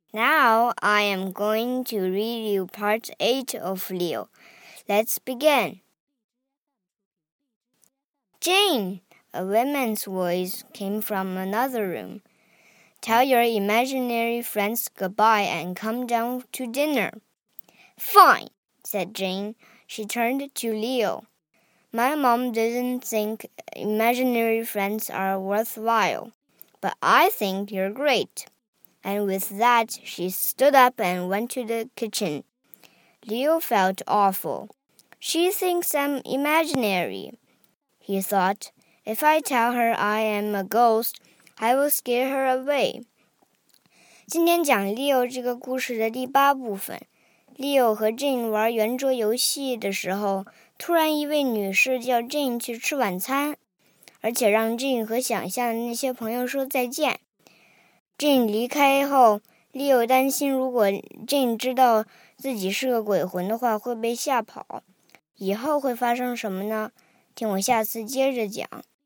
Now I am going to read you part 8 of Leo. Let's begin. Jane, a woman's voice came from another room. Tell your imaginary friends goodbye and come down to dinner. Fine, said Jane. She turned to Leo. My mom doesn't think imaginary friends are worthwhile, but I think you're great.And with that, she stood up and went to the kitchen. Leo felt awful. She thinks I'm imaginary, he thought. If I tell her I am a ghost, I will scare her away. 今天讲 Leo 这个故事的第8部分。Leo 和 Jane 玩圆桌游戏的时候，突然一位女士叫 Jane 去吃晚餐，而且让 Jane 和想象的那些朋友说再见。Jane 离开后 Leo 担心如果 Jane 知道自己是个鬼魂的话会被吓跑。以后会发生什么呢？听我下次接着讲。